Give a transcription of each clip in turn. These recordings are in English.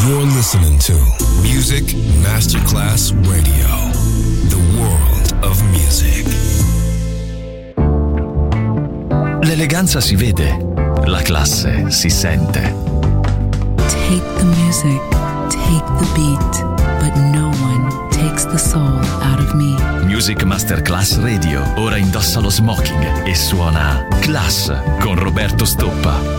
You're listening to Music Masterclass Radio, the world of music. L'eleganza si vede, la classe si sente. Take the music, take the beat, but no one takes the soul out of me. Music Masterclass Radio ora indossa lo smoking e suona Class con Roberto Stoppa.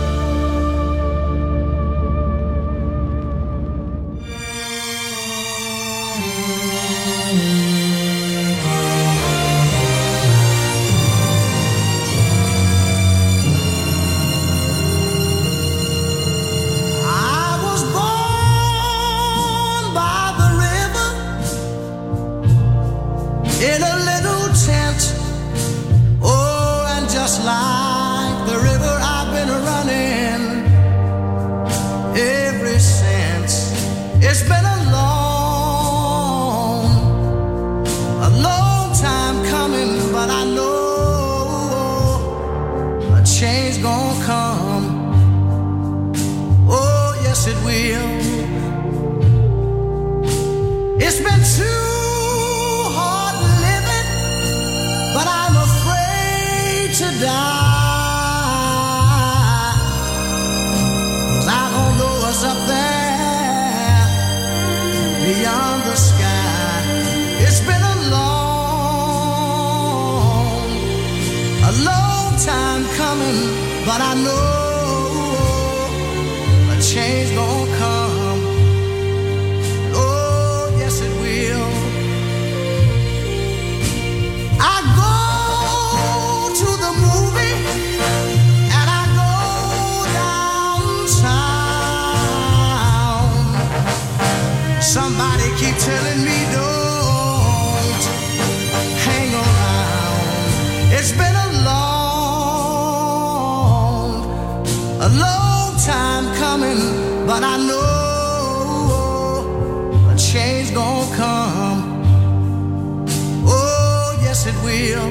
Somebody keep telling me don't hang around. It's been a long time coming, but I know a change gonna come. Oh, yes it will.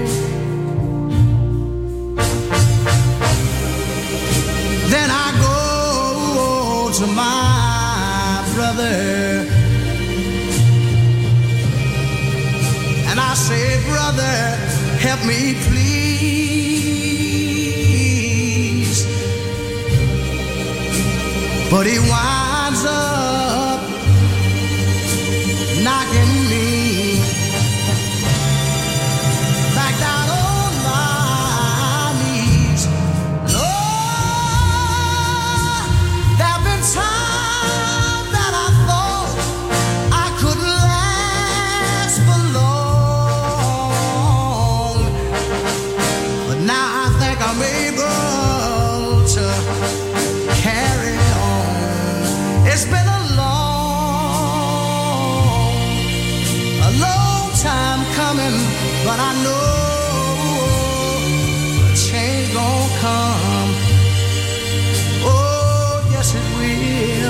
Then I go to my brother and I say, brother, help me please. But he winds up knocking me back down on my knees. Lord, there've been times that I thought I couldn't last for long, but now I think I'm able to carry on. It's been a long time coming, but I know a change gon' come. Oh, yes it will.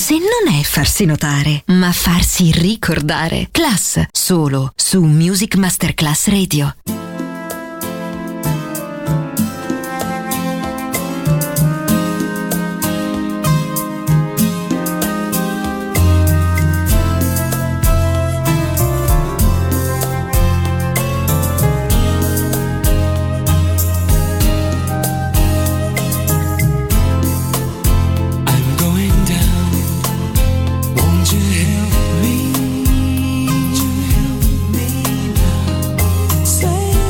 Classe non è farsi notare, ma farsi ricordare. Class, solo su Music Masterclass Radio. Say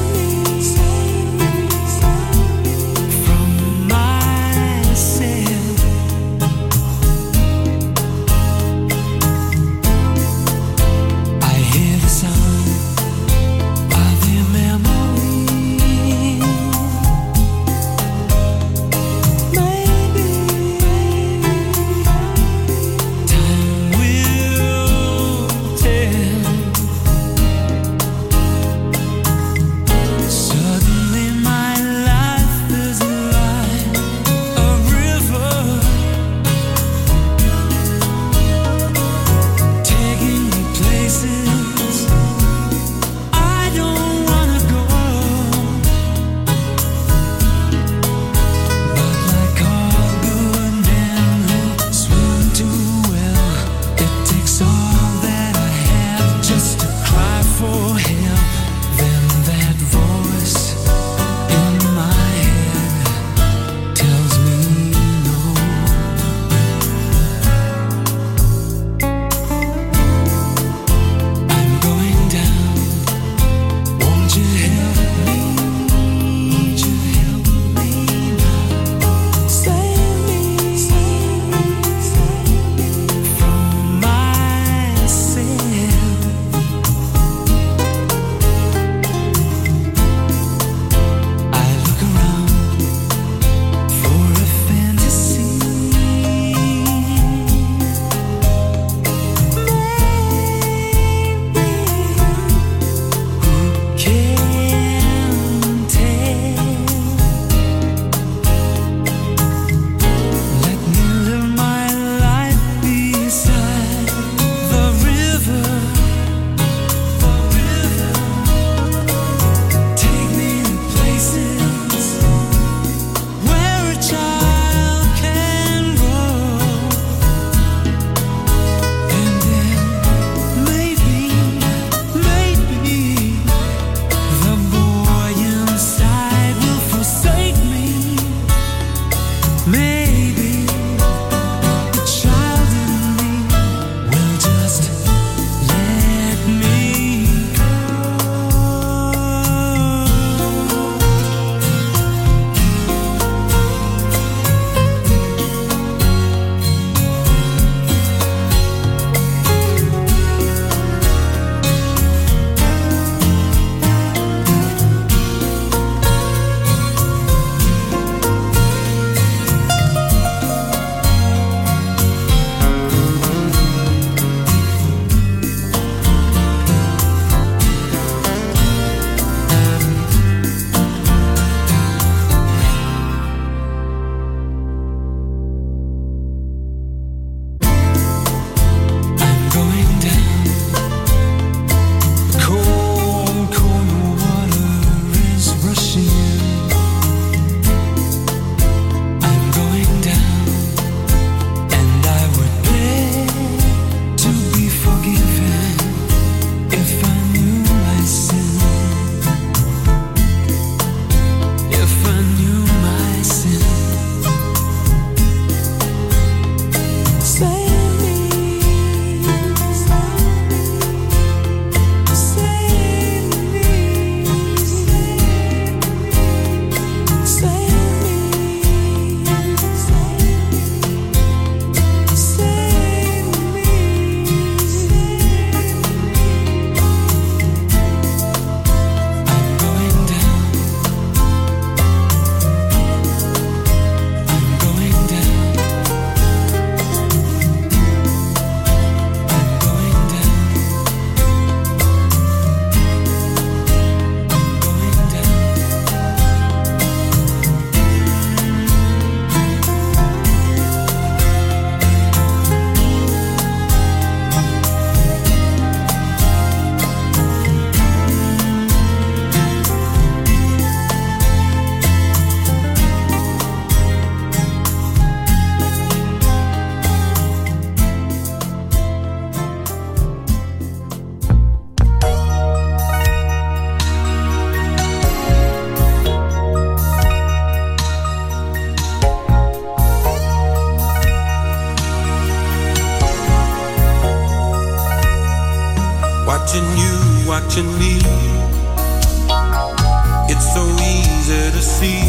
Watching you, watching me. It's so easy to see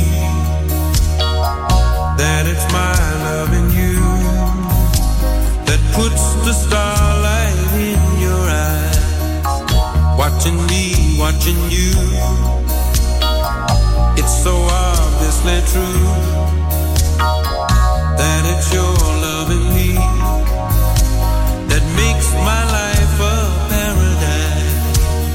that it's my loving you that puts the starlight in your eyes. Watching me, watching you. It's so obviously true that it's your loving me that makes my life a paradise.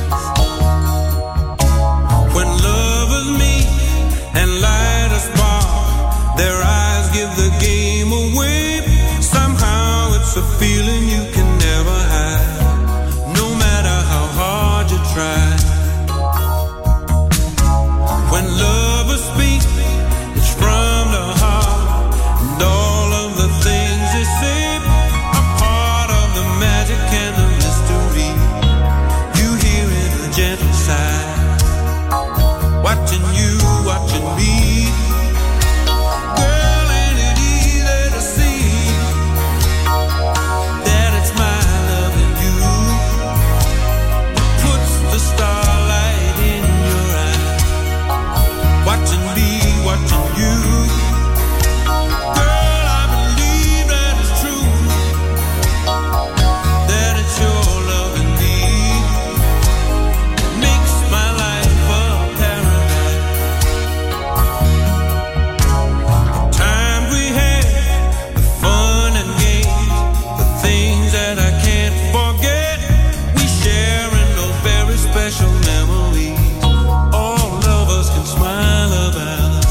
When lovers meet and light a spark, their eyes give the game away. Somehow it's a feeling you can never hide, no matter how hard you try. When lovers speak, it's from the heart, and all of the things they say are part of the magic and the mystery. You hear it, a gentle sigh. Watching you, watching me. Girl, ain't it easy to see that it's my loving you puts the starlight in your eyes. Watching me, watching you. Girl, I believe that it's true, that it's your loving me makes my life a paradise. The times we had, the fun and games, the things that I can't forget, we share in those very special memories all lovers can smile about.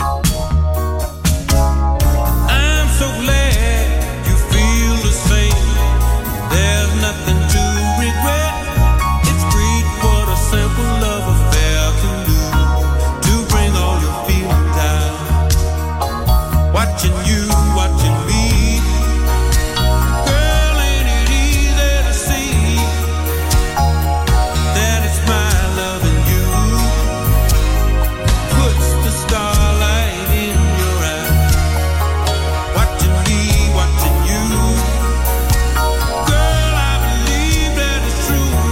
I'm so glad you feel the same. There's nothing to regret. It's great what a simple love affair can do to bring all your feelings out. Watching you, watching me. Girl, ain't it easy to see that it's my loving you puts the starlight in your eyes. Watching me, watching you. Girl, I believe that it's true,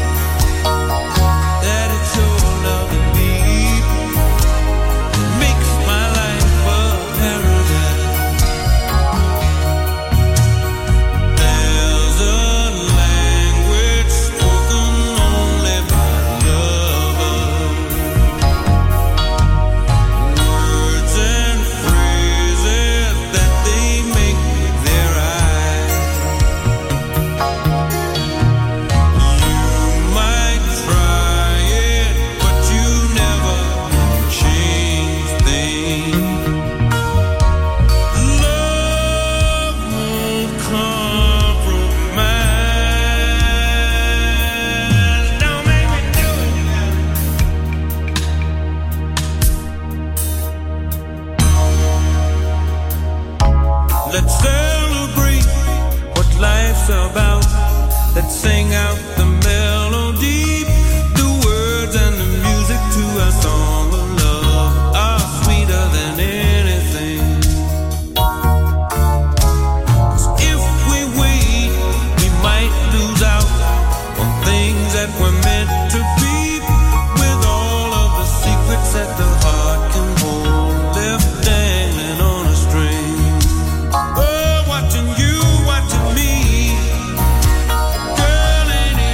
that it's your loving me makes my life a paradise. There's a language spoken only by lovers, words and phrases that they make with their eyes. You might try it, but you never change things. Love won't compromise. Don't make me do it. Let's celebrate what life's about. Let's sing out the melody. The words and the music to our song of love are sweeter than anything. 'Cause if we wait, we might lose out on things that were meant to be, with all of the secrets that the heart can hold, left dangling on a string. Oh, watching you, watching me. Girl, ain't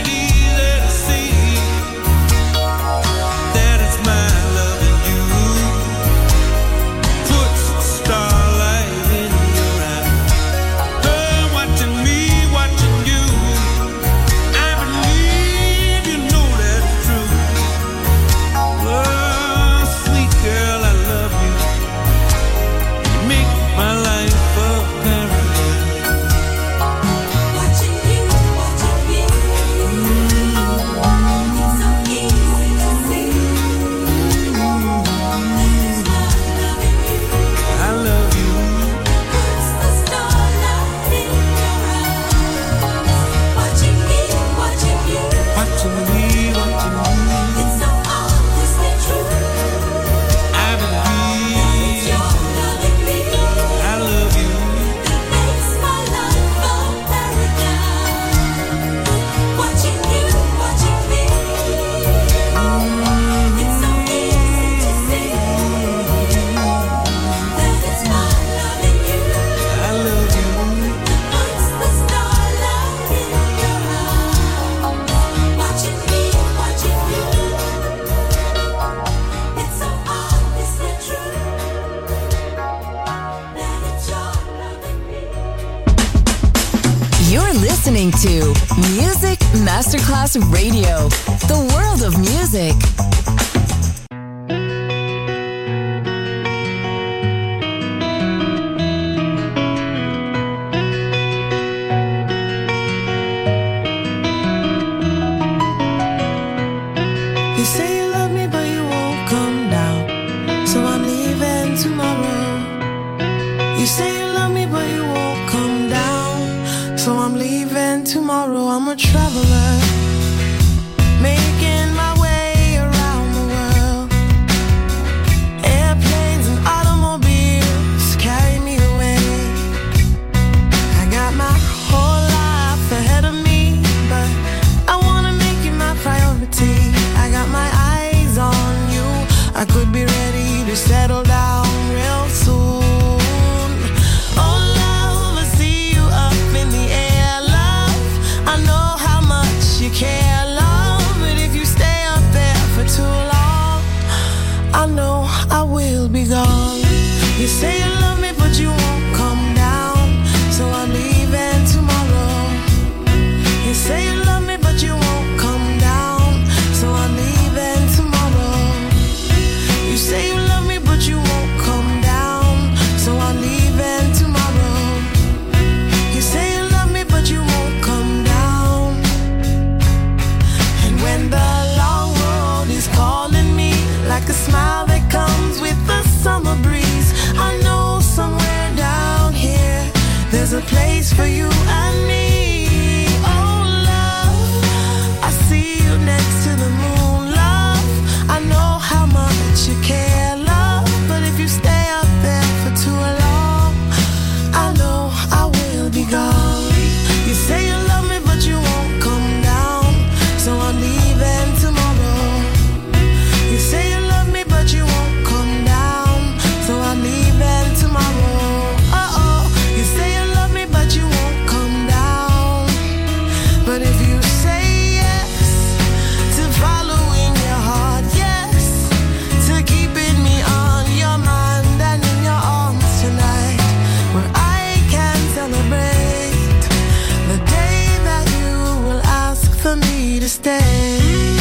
to Music Masterclass Radio, the world of music. You say you love me, but you won't come down, so I'm leaving tomorrow. You say you love me, but you won't come down, so I'm leaving tomorrow. I'm a traveler, making my way around the world. Airplanes and automobiles carry me away. I got my whole life ahead of me, but I wanna make you my priority. I got my eyes on you, I could be ready to settle down real soon. Oh love, I see you up in the air, love, I know how much you care, love, but if you stay up there for too long, I know I will be gone. You say you love me, but you won't come down, so I'm leaving tomorrow. You say you love me, but you won't come down, so I'm leaving tomorrow. You say you love me, but you won't come down, so I'm leaving tomorrow. You say you love me, but you won't come down. And when the long road is calling me, like a smile that comes with the summer breeze, I know somewhere down here there's a place for you and me. Oh love, I see you next to the moon, love, I know how much you care, love, but if you stay up there for too long, I know I will be gone. You say you love me, but you won't come down, so I'm leaving tomorrow. You say you love me, but you won't come down, so I'm leaving tomorrow. Uh-oh, you say you love me, but you won't come down, but if you say yes to following your heart, yes to keeping me on your mind and in your arms tonight, where I can celebrate the day that you will ask for me to stay.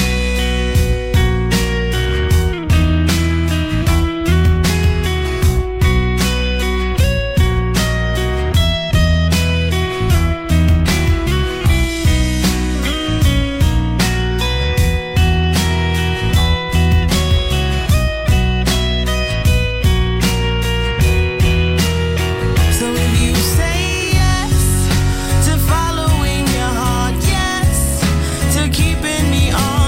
So if you say yes to following your heart, yes to keeping me on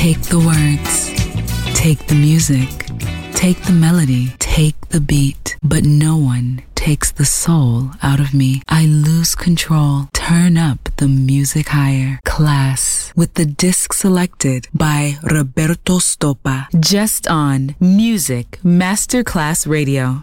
Take the words, take the music, take the melody, take the beat, but no one takes the soul out of me. I lose control. Turn up the music higher. Class with the disc selected by Roberto Stoppa. Just on Music Masterclass Radio.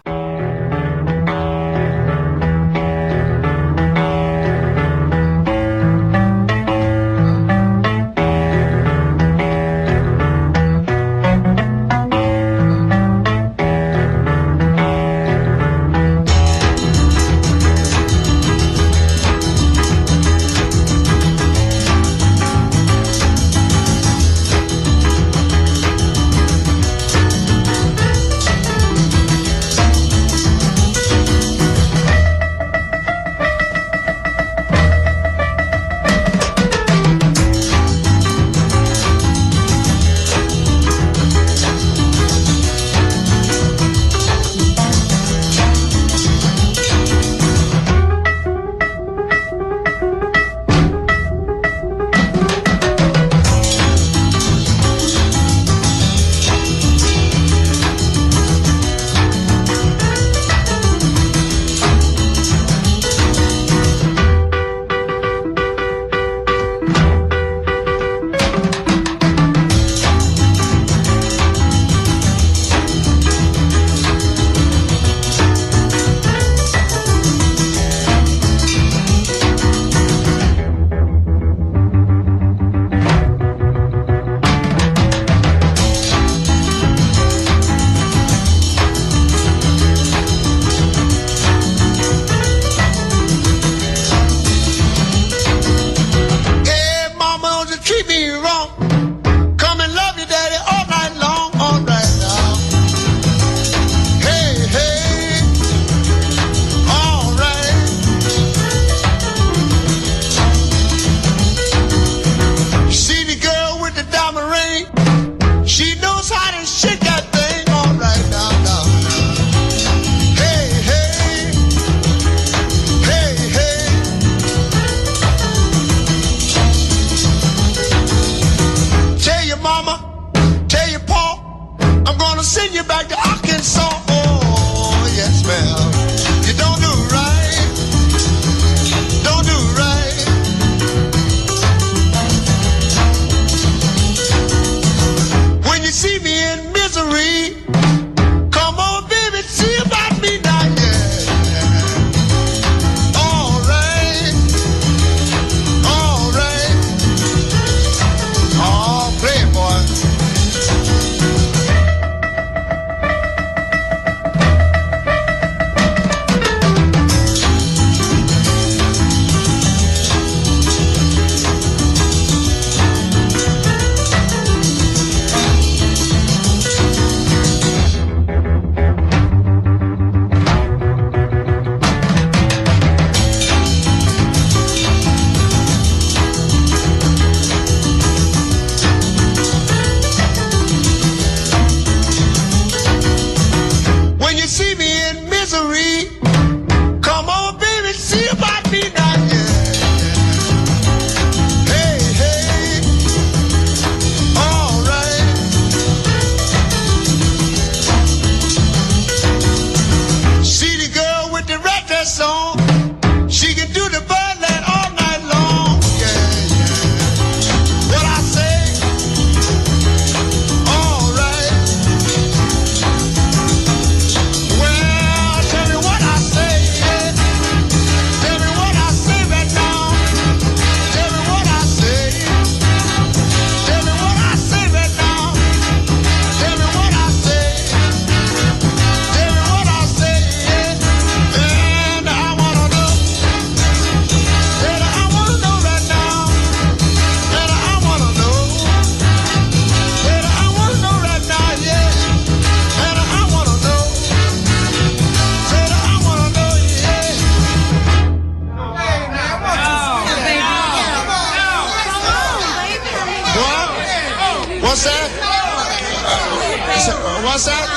What's that?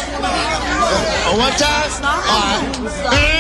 One time? All right.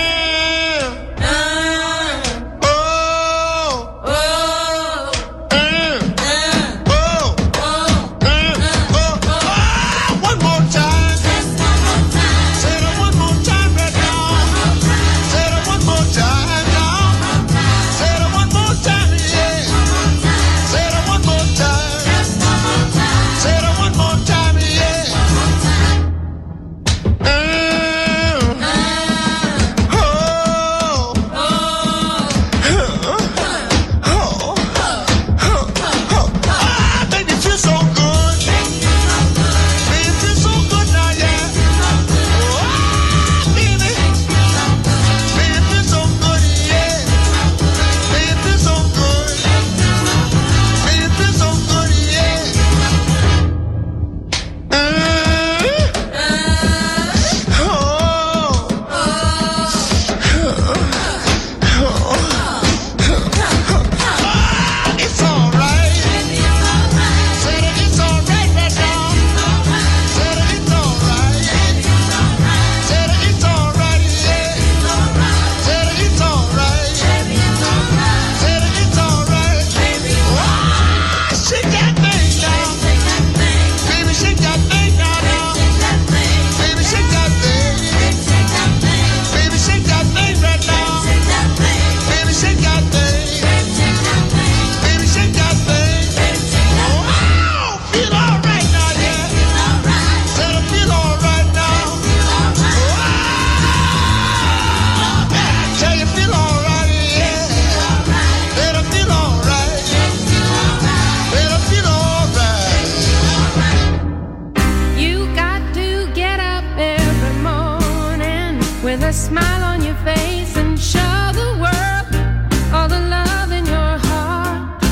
smile on your face and show the world all the love in your heart,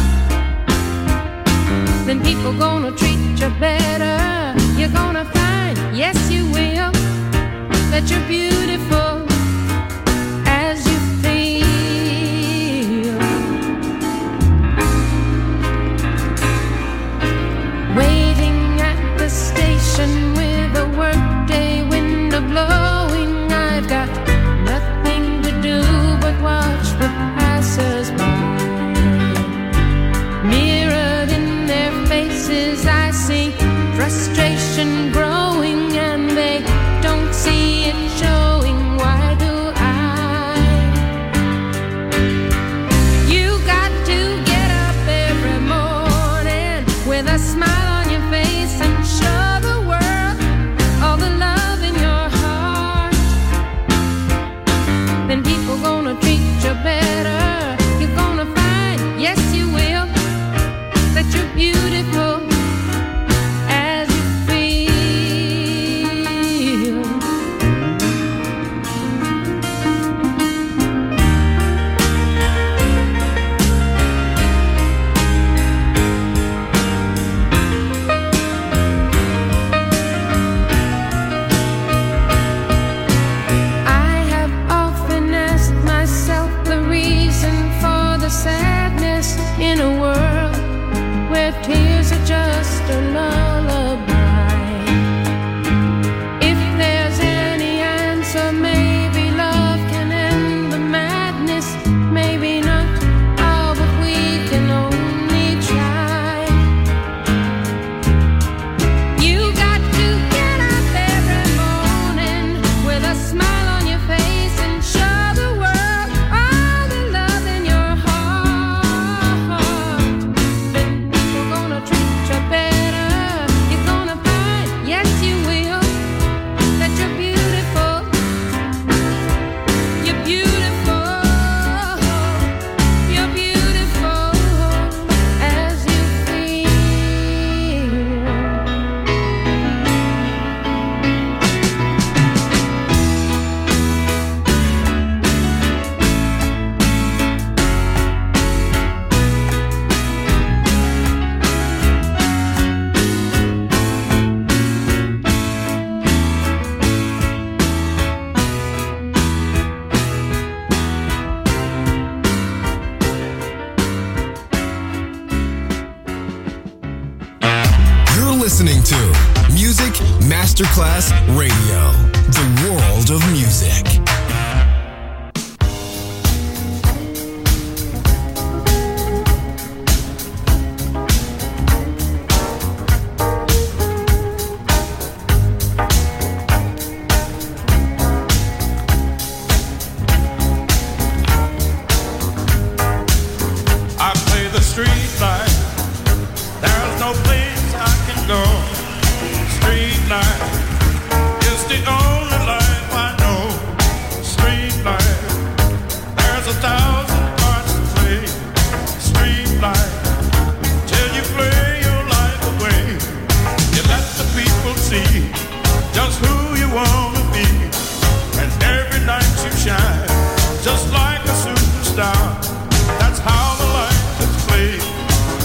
then people gonna treat you better. You're gonna find, yes you will, that you're beautiful as you feel. Waiting at the station with a workday window blowing, I've got nothing to do but watch the passers-by. Mirrored in their faces I see frustration growing, and they don't see it showing. Why do I? You got to get up every morning with a smile on your face and show the world all the love in your heart, then people gonna treat you better. You're gonna find, yes you will, that you're beautiful as you feel. I have often asked myself the reason for the sadness in a world where tears are just a lullaby. If there's any answer, maybe love can end the madness, maybe not. Oh, but we can only try. You got to get up every morning with a smile on your face and show the world all the love in your heart. Then people gonna treat you better. You're gonna find, yes you will, that you're beautiful. You're beautiful. You're beautiful as you feel. You're listening to Music Masterclass Radio, the world of music. I play the street light. There's no place I can go. Street light is the only life I know. Street light, there's 1,000 parts to play. Street light, till you play your life away. You let the people see just who you wanna be, and every night you shine just like a superstar. That's how the light is played.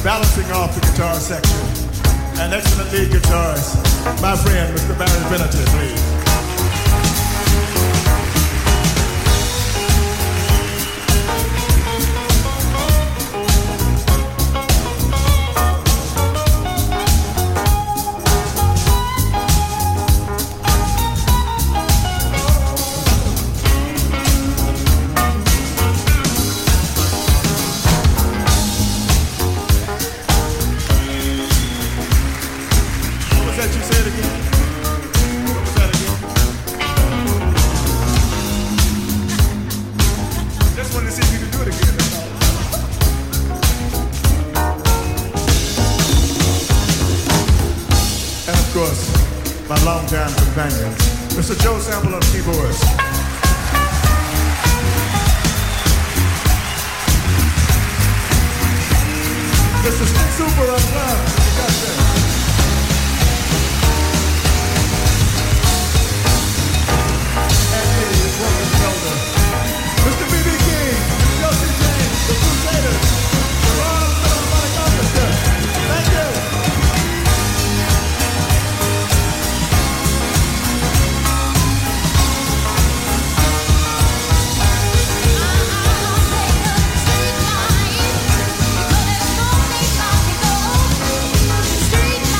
balancing off the guitar section, an excellent lead guitarist, my friend, Mr. Barry Benetton, please. Mr. Joe Sample on keyboards. Mr. Stick Super on drums. You got that. And his woman shoulder. Mr. B.B. King, Josie James, the Crusaders, the Royal Philharmonic Orchestra. Thank you. Street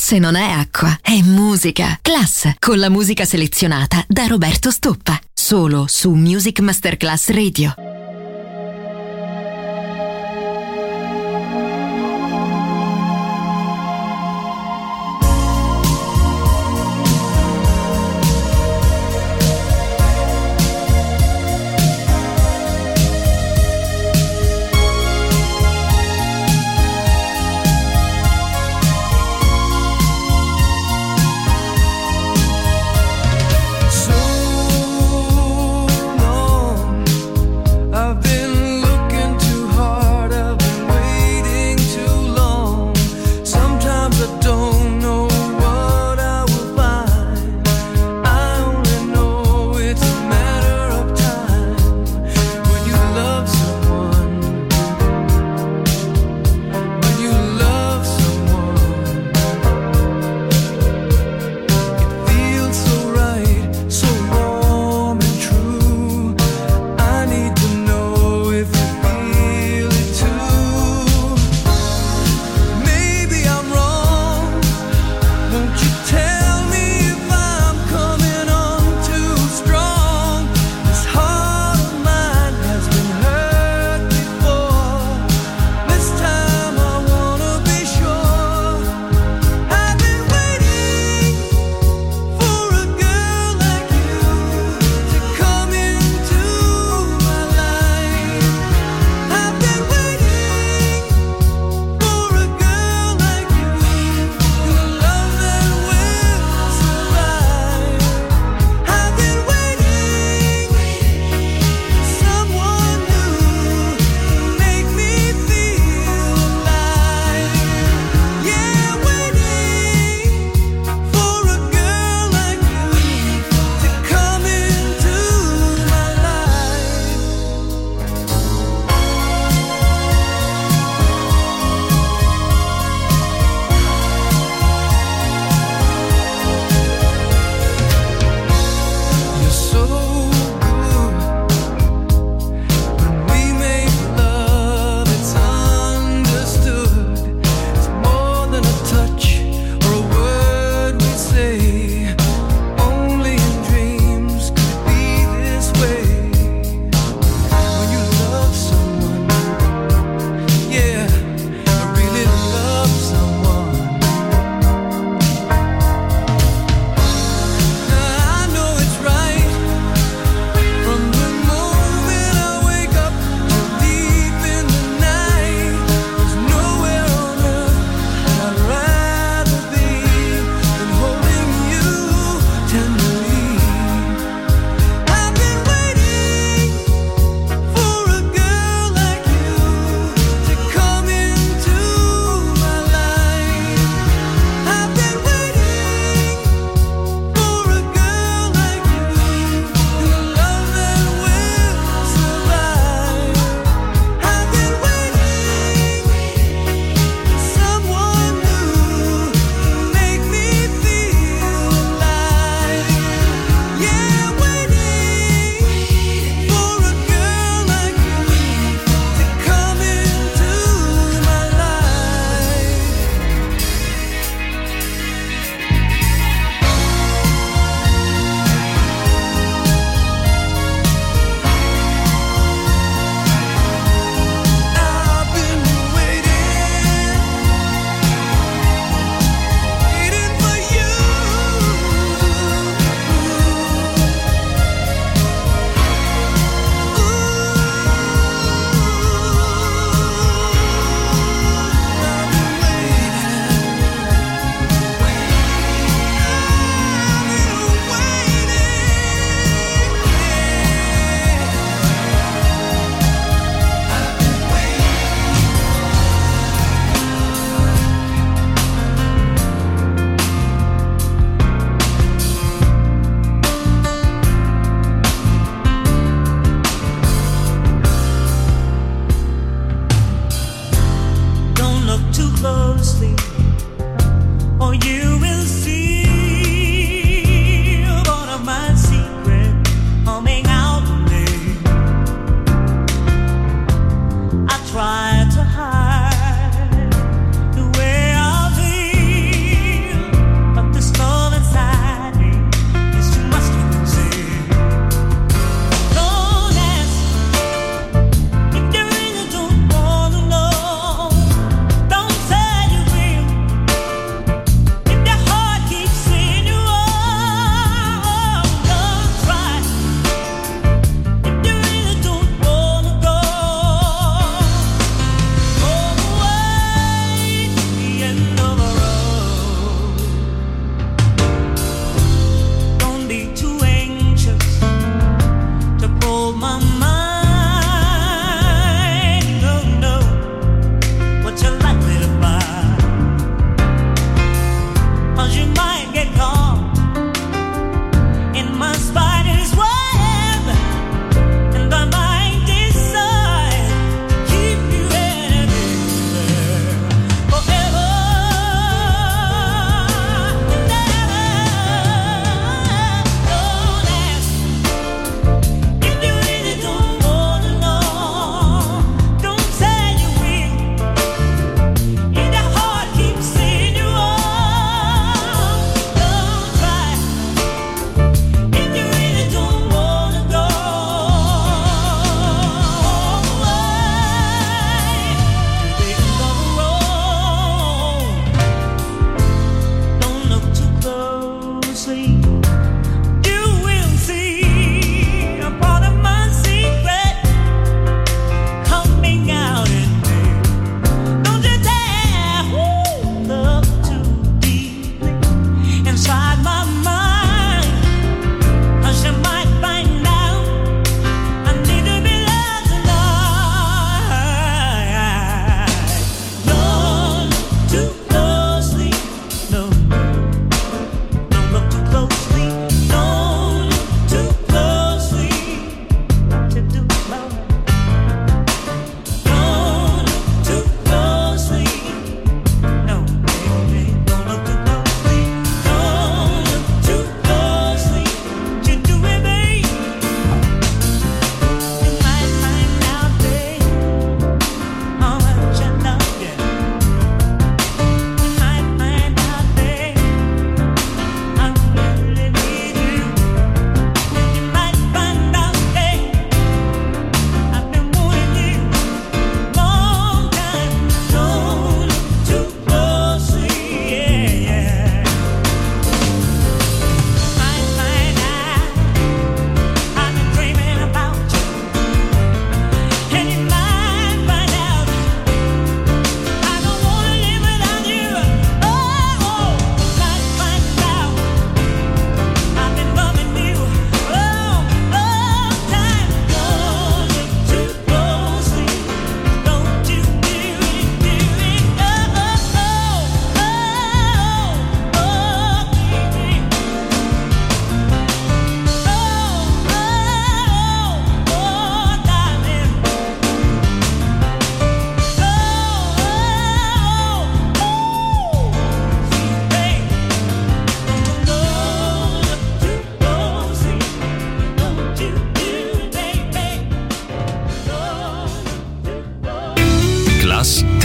Class non è acqua, è musica. Class, con la musica selezionata da Roberto Stoppa. Solo su Music Masterclass Radio.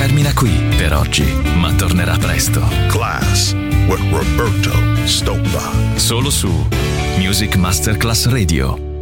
termina qui per oggi, ma tornerà presto. Class with Roberto Stoppa. Solo su Music Masterclass Radio.